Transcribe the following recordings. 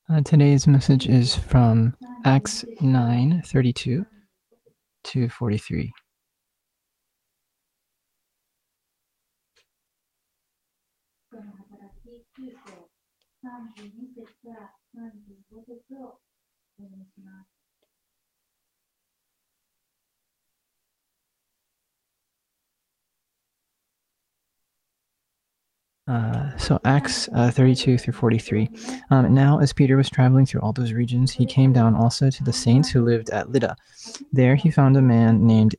Today's message is from Acts 9:32 to 43. So Acts 32 through 43. Now, as Peter was traveling through all those regions, he came down also to the saints who lived at Lydda. There he found a man named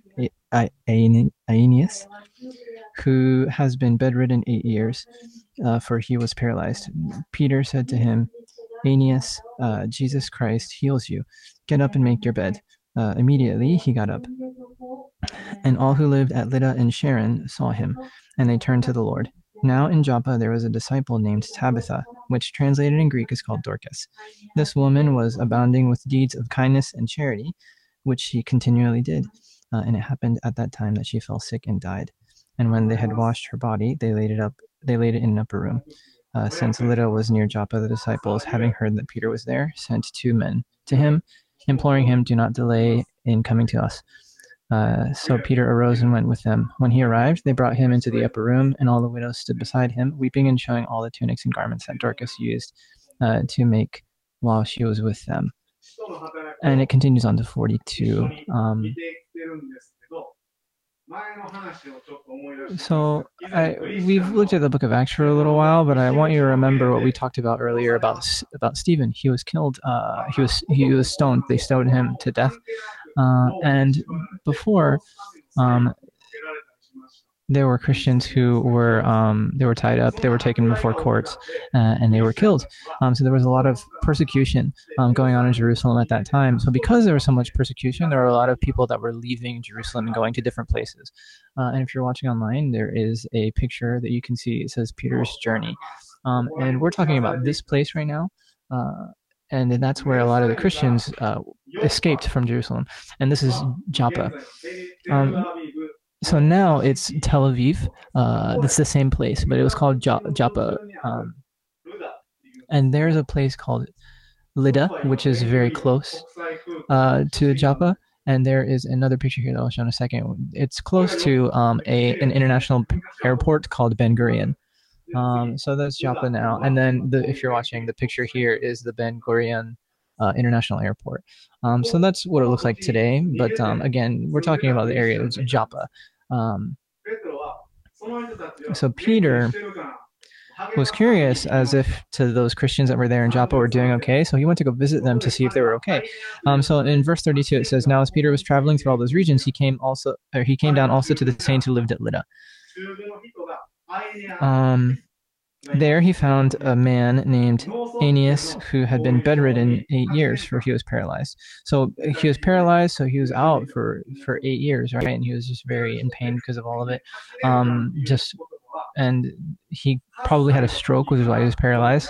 Aeneas, who has been bedridden 8 years, for he was paralyzed. Peter said to him, Aeneas, Jesus Christ heals you. Get up and make your bed. Immediately he got up. And all who lived at Lydda and Sharon saw him, and they turned to the Lord. Now in Joppa there was a disciple named Tabitha, which translated in Greek is called Dorcas. This woman was abounding with deeds of kindness and charity, which she continually did. And it happened at that time that she fell sick and died. And when they had washed her body, they laid it in an upper room. Since Lydda was near Joppa, the disciples, having heard that Peter was there, sent 2 men to him, imploring him, do not delay in coming to us. So Peter arose and went with them. When he arrived, they brought him into the upper room, and all the widows stood beside him, weeping and showing all the tunics and garments that Dorcas used to make while she was with them. And it continues on to 42. We've looked at the book of Acts for a little while, but I want you to remember what we talked about earlier about Stephen. He was killed. He was stoned. They stoned him to death. And before, there were Christians who were they were tied up, they were taken before courts, and they were killed. So there was a lot of persecution going on in Jerusalem at that time. So because there was so much persecution, there were a lot of people that were leaving Jerusalem and going to different places. And if you're watching online, there is a picture that you can see. It says Peter's Journey. And we're talking about this place right now. And that's where a lot of the Christians escaped from Jerusalem. And this is Joppa. So now it's Tel Aviv. It's the same place, but it was called Joppa. And there's a place called Lydda, which is very close to Joppa. And there is another picture here that I'll show in a second. It's close to an international airport called Ben Gurion. So that's Joppa now. And then if you're watching, the picture here is the Ben Gurion International Airport. So that's what it looks like today. But again, we're talking about the area of Joppa. So Peter was curious as if to those Christians that were there in Joppa were doing okay. So he went to go visit them to see if they were okay. So in verse 32, it says, now as Peter was traveling through all those regions, he came down also to the saints who lived at Lydda. There he found a man named Aeneas who had been bedridden 8 years, for he was paralyzed. So he was paralyzed, so he was out for 8 years, right? And he was just very in pain because of all of it. And he probably had a stroke, which is why he was paralyzed.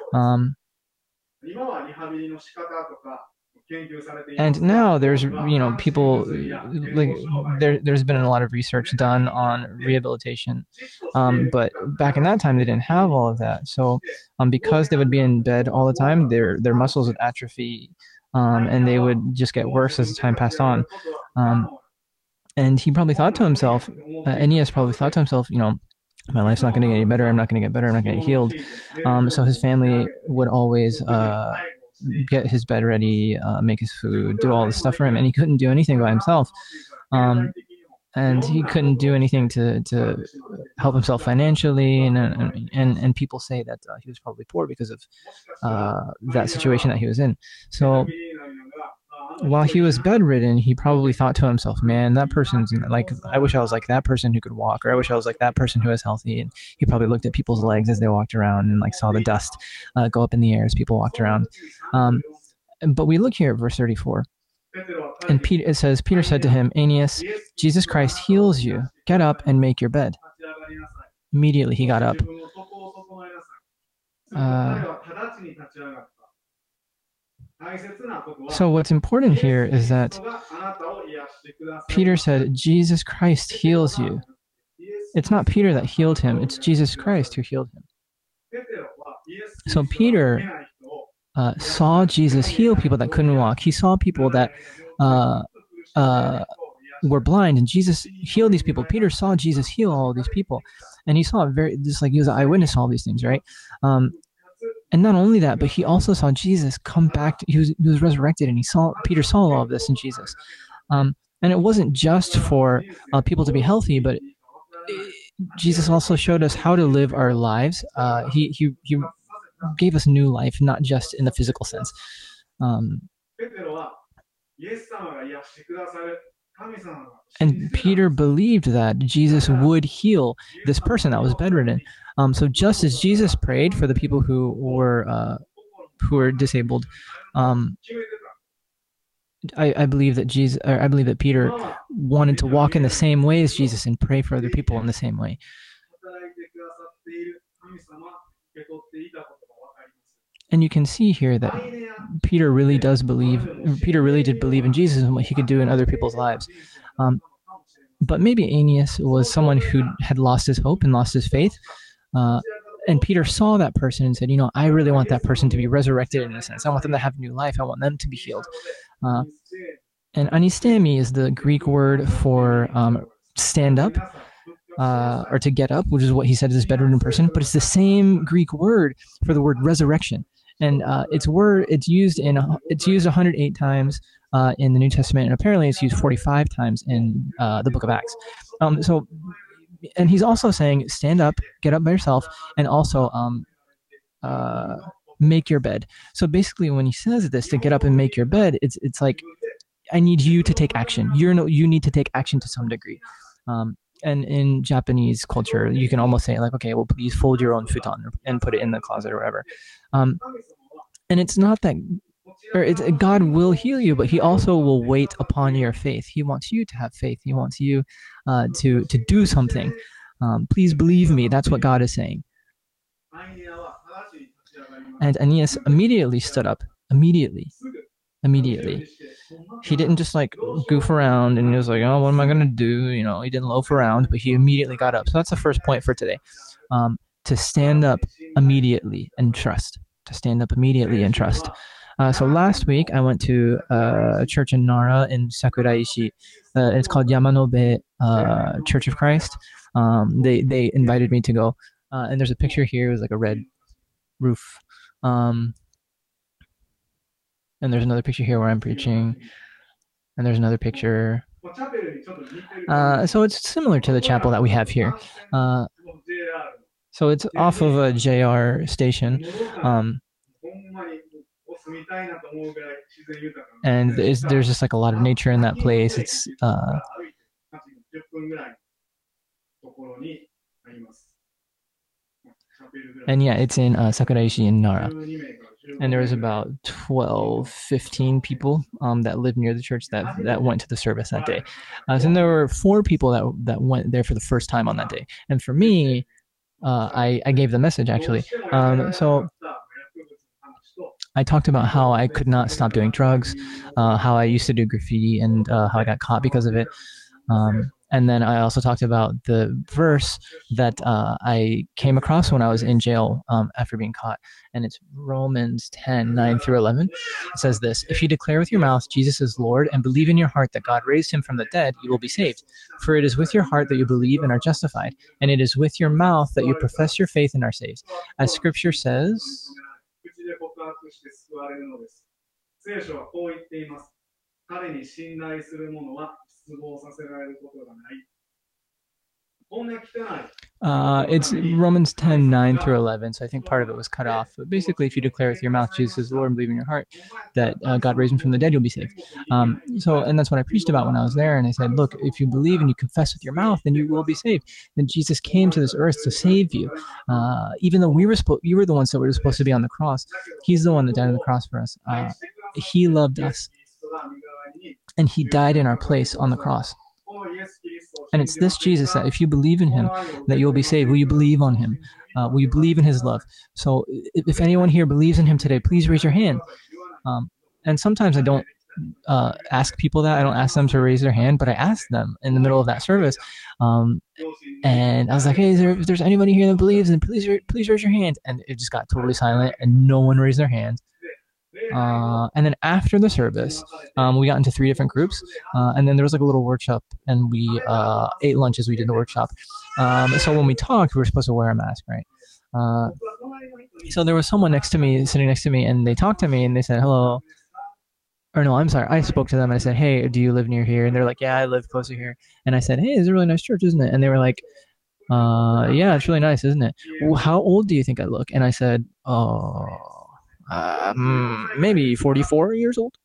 And now there's people like there's been a lot of research done on rehabilitation, but back in that time they didn't have all of that. So because they would be in bed all the time, their muscles would atrophy, and they would just get worse as the time passed on. And he probably thought to himself, Aeneas probably thought to himself, my life's not going to get any better. I'm not going to get better. I'm not going to get healed. So his family would always get his bed ready, make his food, do all this stuff for him, and he couldn't do anything by himself. And he couldn't do anything to help himself financially, and people say that he was probably poor because of that situation that he was in. So while he was bedridden, he probably thought to himself, man, that person's like, I wish I was like that person who could walk, or I wish I was like that person who was healthy. And he probably looked at people's legs as they walked around and like saw the dust go up in the air as people walked around. But we look here at verse 34. And it says, Peter said to him, Aeneas, Jesus Christ heals you. Get up and make your bed. Immediately he got up. So what's important here is that Peter said, Jesus Christ heals you. It's not Peter that healed him. It's Jesus Christ who healed him. So Peter saw Jesus heal people that couldn't walk. He saw people that uh, uh, were blind, and Jesus healed these people. Peter saw Jesus heal all these people, and he saw it very just like he was an eyewitness to all these things, right? And not only that, but he also saw Jesus come back. He was resurrected, and Peter saw all of this in Jesus. And it wasn't just for people to be healthy, but Jesus also showed us how to live our lives. He gave us new life, not just in the physical sense. And Peter believed that Jesus would heal this person that was bedridden. So just as Jesus prayed for the people who were disabled, I believe that Peter wanted to walk in the same way as Jesus and pray for other people in the same way. And you can see here that Peter really did believe in Jesus and what he could do in other people's lives. But maybe Aeneas was someone who had lost his hope and lost his faith. And Peter saw that person and said, I really want that person to be resurrected in a sense. I want them to have new life. I want them to be healed. And anistemi is the Greek word for stand up or to get up, which is what he said to this bedridden person. But it's the same Greek word for the word resurrection. And it's used 108 times in the New Testament, and apparently it's used 45 times in the Book of Acts. And he's also saying, stand up, get up by yourself, and also make your bed. So basically, when he says this, to get up and make your bed, it's like, I need you to take action. You need to take action to some degree. And in Japanese culture, you can almost say like, okay, well, please fold your own futon and put it in the closet or whatever. And it's not that, God will heal you, but he also will wait upon your faith. He wants you to have faith. He wants you to do something. Please believe me. That's what God is saying. And Aeneas immediately stood up. Immediately. He didn't just like goof around and he was like, oh, what am I going to do? He didn't loaf around, but he immediately got up. So that's the first point for today. To stand up immediately and trust. So last week I went to a church in Nara in Sakuraishi. It's called Yamanobe Church of Christ. They invited me to go. And there's a picture here. It was like a red roof. And there's another picture here where I'm preaching. And there's another picture. So it's similar to the chapel that we have here. So it's off of a JR station. And there's just like a lot of nature in that place. It's and yeah, it's in Sakuraishi in Nara. And there was about 15 people that lived near the church that went to the service that day. So there were 4 people that went there for the first time on that day. And for me, I gave the message actually. So I talked about how I could not stop doing drugs, how I used to do graffiti and how I got caught because of it. And then I also talked about the verse that I came across when I was in jail after being caught. And it's Romans 10:9-11. It says this: if you declare with your mouth Jesus is Lord and believe in your heart that God raised him from the dead, you will be saved. For it is with your heart that you believe and are justified, and it is with your mouth that you profess your faith and are saved. As scripture says, it's Romans 10:9-11. So I think part of it was cut off. But basically, if you declare with your mouth Jesus is Lord and believe in your heart that God raised him from the dead, you'll be saved. And that's what I preached about when I was there. And I said, look, if you believe and you confess with your mouth, then you will be saved. And Jesus came to this earth to save you. Even though you were the ones that were supposed to be on the cross, he's the one that died on the cross for us. He loved us. And he died in our place on the cross. And it's this Jesus that if you believe in him, that you'll be saved. Will you believe on him? Will you believe in his love? So if anyone here believes in him today, please raise your hand. And sometimes I don't ask people that. I don't ask them to raise their hand, but I asked them in the middle of that service. And I was like, hey, if there's anybody here that believes, then please raise your hand. And it just got totally silent and no one raised their hand. And then after the service, we got into three different groups, and then there was like a little workshop, and we ate lunch as we did the workshop. So when we talked, we were supposed to wear a mask, right? Uh, so there was someone next to me, sitting next to me, and they talked to me, and they said hello. Or no, I'm sorry. I spoke to them and I said, "Hey, do you live near here?" And they're like, "Yeah, I live closer here." And I said, "Hey, it's a really nice church, isn't it?" And they were like, yeah, it's really nice, isn't it? Well, how old do you think I look?" And I said, "Oh, maybe 44 years old."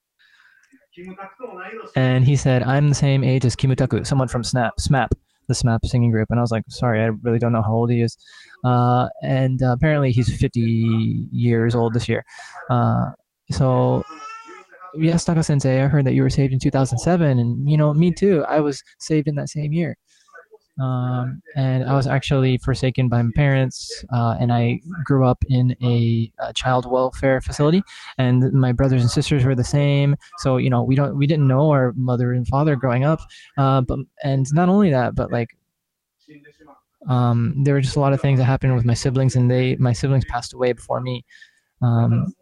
And he said, "I'm the same age as Kimutaku, someone from SMAP, the SMAP singing group." And I was like, "Sorry, I really don't know how old he is." And apparently he's 50 years old this year. So yes, Taka Sensei, I heard that you were saved in 2007, and me too. I was saved in that same year. And I was actually forsaken by my parents, and I grew up in a child welfare facility, and my brothers and sisters were the same. So we didn't know our mother and father growing up, but and not only that, but like there were just a lot of things that happened with my siblings, and my siblings passed away before me. Um,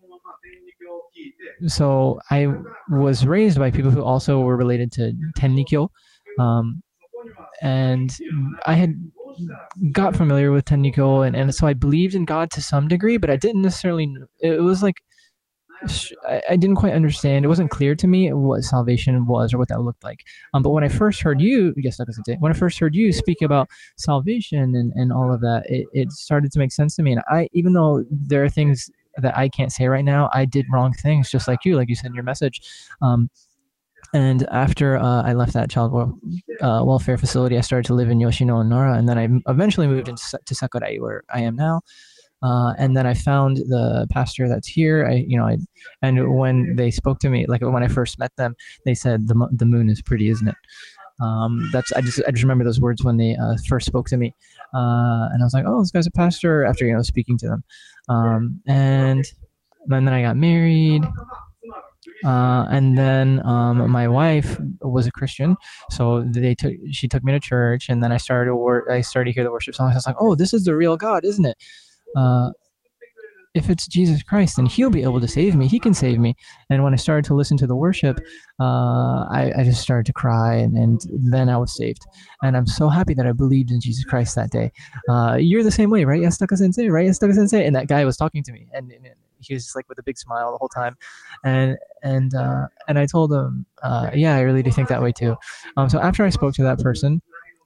so I was raised by people who also were related to Tennikyo. Um, and I had got familiar with Tennikyo, and so I believed in God to some degree, but I didn't necessarily. It was like I didn't quite understand. It wasn't clear to me what salvation was or what that looked like. But when I first heard you, yes, like I said, when I first heard you speak about salvation and all of that, it started to make sense to me. And even though there are things that I can't say right now, I did wrong things, just like you said in your message. And after I left that child welfare facility, I started to live in Yoshino and Nara, and then I eventually moved to Sakurai, where I am now. And then I found the pastor that's here. And when they spoke to me, like when I first met them, they said the moon is pretty, isn't it? That's I just remember those words when they first spoke to me, and I was like, oh, this guy's a pastor. After speaking to them, and then I got married. And then my wife was a Christian, so she took me to church, and then I started to hear the worship songs. I was like, oh, this is the real God, isn't it? Uh, if it's Jesus Christ, then He'll be able to save me. He can save me. And when I started to listen to the worship, I just started to cry, and then I was saved. And I'm so happy that I believed in Jesus Christ that day. You're the same way, right? Yasutaka Sensei, right? Yasutaka Sensei. And that guy was talking to me, and he was just like with a big smile the whole time, and I told him, yeah, I really do think that way too. So after I spoke to that person,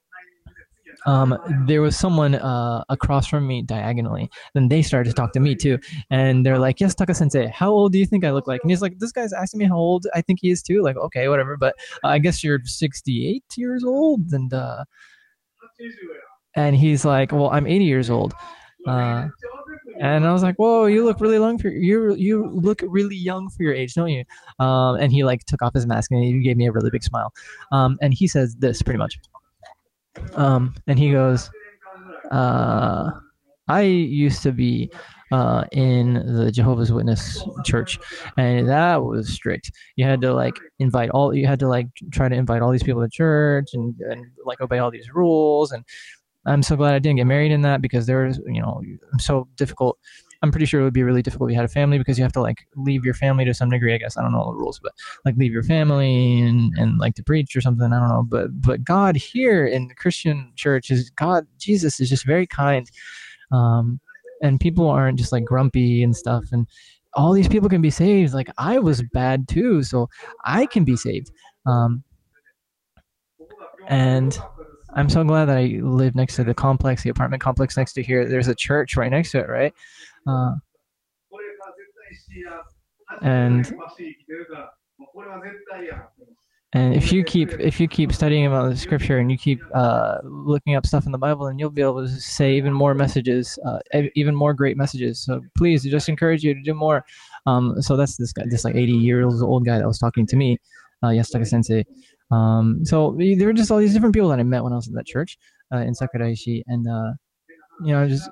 there was someone across from me diagonally. Then they started to talk to me too, and they're like, "Yes, Taka Sensei, how old do you think I look like?" And he's like, "This guy's asking me how old I think he is too." Like, okay, whatever, but I guess you're 68 years old, and he's like, "Well, I'm 80 years old." Uh, and I was like, "Whoa, you look really young for you look really young for your age, don't you?" And he like took off his mask and he gave me a really big smile. And he says this pretty much. And he goes, uh, I used to be in the Jehovah's Witness church, and that was strict. You had to you had to like try to invite all these people to church and like obey all these rules. And I'm so glad I didn't get married in that, because there was, so difficult. I'm pretty sure it would be really difficult if you had a family, because you have to like leave your family to some degree. I guess I don't know all the rules, but like leave your family and like to preach or something. I don't know, but God here in the Christian church Jesus is just very kind, and people aren't just like grumpy and stuff, and all these people can be saved. Like I was bad too, so I can be saved, and I'm so glad that I live next to the apartment complex next to here. There's a church right next to it, right? Uh, and and if you keep studying about the scripture, and you keep looking up stuff in the Bible, and you'll be able to say even more messages, even more great messages. So please, I just encourage you to do more. So that's this guy, this like 80 years old guy that was talking to me, Yasutaka Sensei. So there were just all these different people that I met when I was in that church in Sakuraishi, and just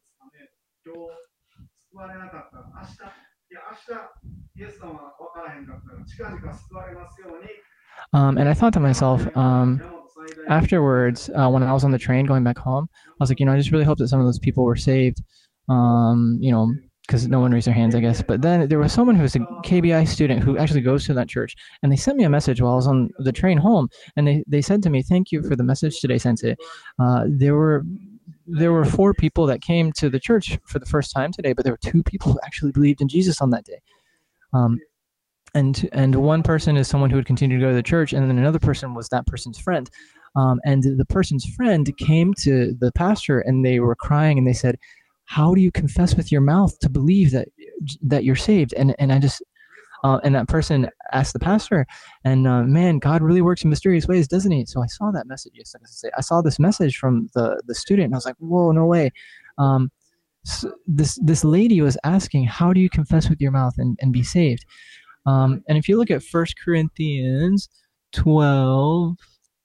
and I thought to myself, afterwards, when I was on the train going back home, I was like, I just really hope that some of those people were saved. Um, you know, because no one raised their hands, I guess. But then there was someone who was a KBI student who actually goes to that church, and they sent me a message while I was on the train home, and they said to me, "Thank you for the message today, Sensei. There were 4 people that came to the church for the first time today, but there were 2 people who actually believed in Jesus on that day." Um, and one person is someone who would continue to go to the church, and then another person was that person's friend. And the person's friend came to the pastor, and they were crying, and they said, "How do you confess with your mouth to believe that you're saved?" And I just and that person asked the pastor, and man, God really works in mysterious ways, doesn't he? So I saw that message. Yes, I saw this message from the student, and I was like, whoa, no way. So this lady was asking, how do you confess with your mouth and be saved? And if you look at 1 Corinthians 12,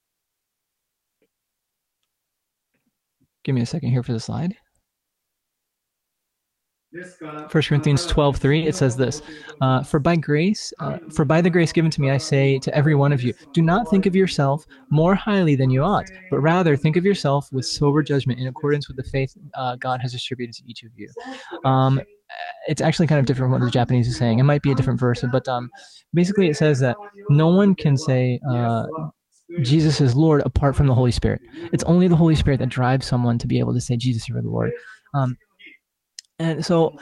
give me a second here for the slide. 1 Corinthians 12:3, it says this, for by the grace given to me, I say to every one of you, do not think of yourself more highly than you ought, but rather think of yourself with sober judgment in accordance with the faith God has distributed to each of you. It's actually kind of different from what the Japanese is saying. It might be a different verse, but basically it says that no one can say Jesus is Lord apart from the Holy Spirit. It's only the Holy Spirit that drives someone to be able to say, Jesus, you are the Lord. And so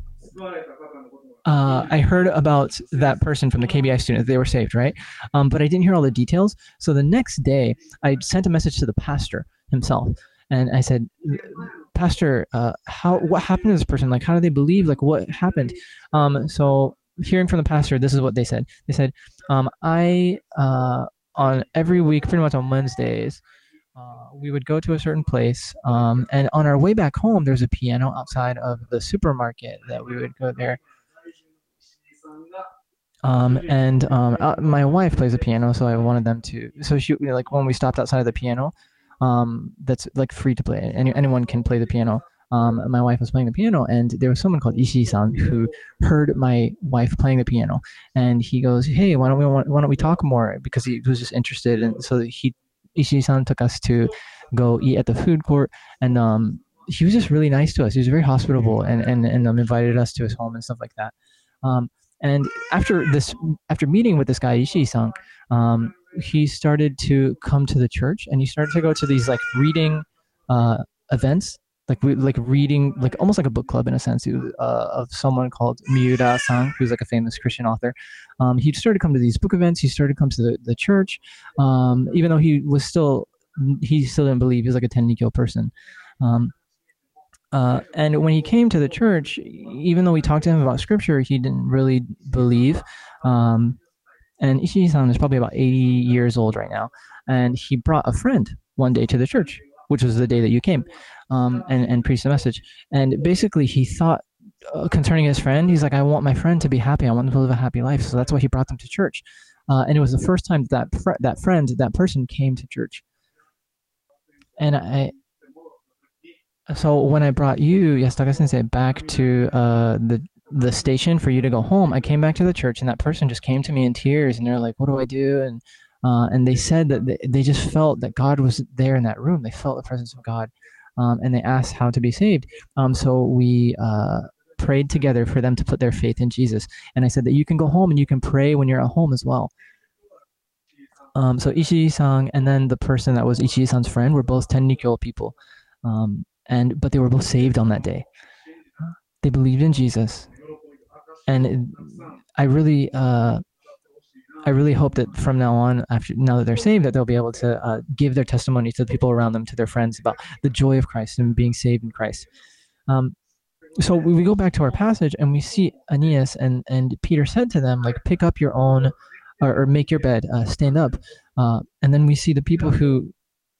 I heard about that person from the KBI student. They were saved, right? But I didn't hear all the details. So the next day, I sent a message to the pastor himself. And I said, Pastor, what happened to this person? Like, how do they believe? Like, what happened? So hearing from the pastor, this is what they said. They said, on every week, pretty much on Wednesdays, we would go to a certain place, and on our way back home, there's a piano outside of the supermarket that we would go there. My wife plays the piano, so I wanted them to. So she, like, when we stopped outside of the piano, that's like free to play. Anyone can play the piano. My wife was playing the piano, and there was someone called Ishii-san who heard my wife playing the piano, and he goes, "Hey, why don't we talk more?" Because he was just interested, and so Ishii-san took us to go eat at the food court, and he was just really nice to us. He was very hospitable, and invited us to his home and stuff like that. And after meeting with this guy Ishii-san, he started to come to the church, and he started to go to these like reading events, like reading, like almost like a book club in a sense, of someone called Miura-san, who's like a famous Christian author. He started to come to these book events. He started to come to the church, even though he still didn't believe. He was like a Tennikyo person. And when he came to the church, even though we talked to him about scripture, he didn't really believe. And Ishii-san is probably about 80 years old right now. And he brought a friend one day to the church, which was the day that you came, and preached the message. And basically he thought, concerning his friend, he's like, I want my friend to be happy. I want them to live a happy life. So that's why he brought them to church. And it was the first time that person came to church. And so when I brought you, Yasutaka Sensei, back to the station for you to go home, I came back to the church, and that person just came to me in tears, and they're like, "What do I do?" And they said that they just felt that God was there in that room. They felt the presence of God, and they asked how to be saved. So we prayed together for them to put their faith in Jesus. And I said that you can go home and you can pray when you're at home as well. So Ishii-san and then the person that was Ishii-san's friend were both Tennikyo people. But they were both saved on that day. They believed in Jesus, and I really hope that from now on, now that they're saved, that they'll be able to give their testimony to the people around them, to their friends, about the joy of Christ and being saved in Christ. So we go back to our passage, and we see Aeneas and Peter said to them, like, pick up your own, or make your bed, stand up, and then we see the people who.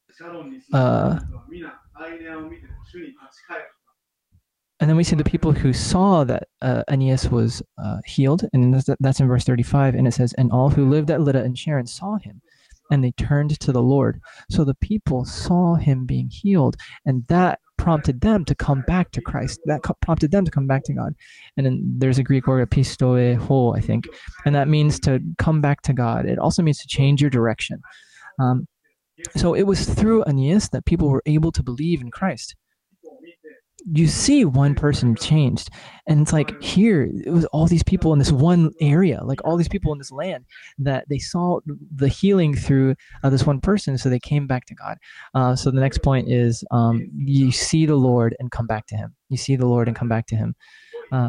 And then we see the people who saw that Aeneas was healed, and that's in verse 35, and it says, and all who lived at Lydda and Sharon saw him, and they turned to the Lord. So the people saw him being healed, and that prompted them to come back to Christ. That prompted them to come back to God. And then there's a Greek word, pistoe ho, I think, and that means to come back to God. It also means to change your direction. So it was through Aeneas that people were able to believe in Christ. you see one person changed, and it's like here it was all these people in this one area, like all these people in this land, that they saw the healing through this one person, so they came back to God. So the next point is, you see the Lord and come back to Him. You see the Lord and come back to Him. uh,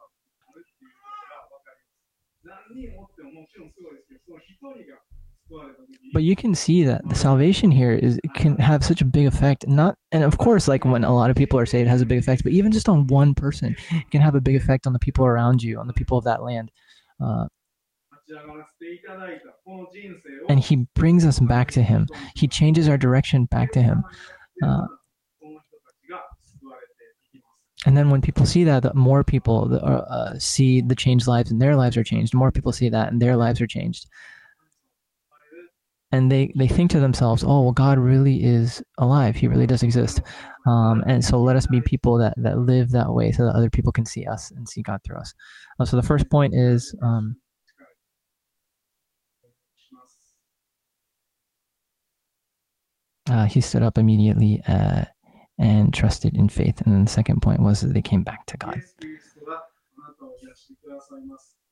but you can see that the salvation here is can have such a big effect. Not, and of course, like when a lot of people are saved, it has a big effect. But even just on one person, it can have a big effect on the people around you, on the people of that land. Uh, and He brings us back to Him. He changes our direction back to Him. Uh, and then when people see that, the more people see the changed lives, and their lives are changed. More people see that, and their lives are changed. And they think to themselves, oh, well, God really is alive. He really does exist. And so let us be people that live that way, so that other people can see us and see God through us. So the first point is, he stood up immediately and trusted in faith. And then the second point was that they came back to God.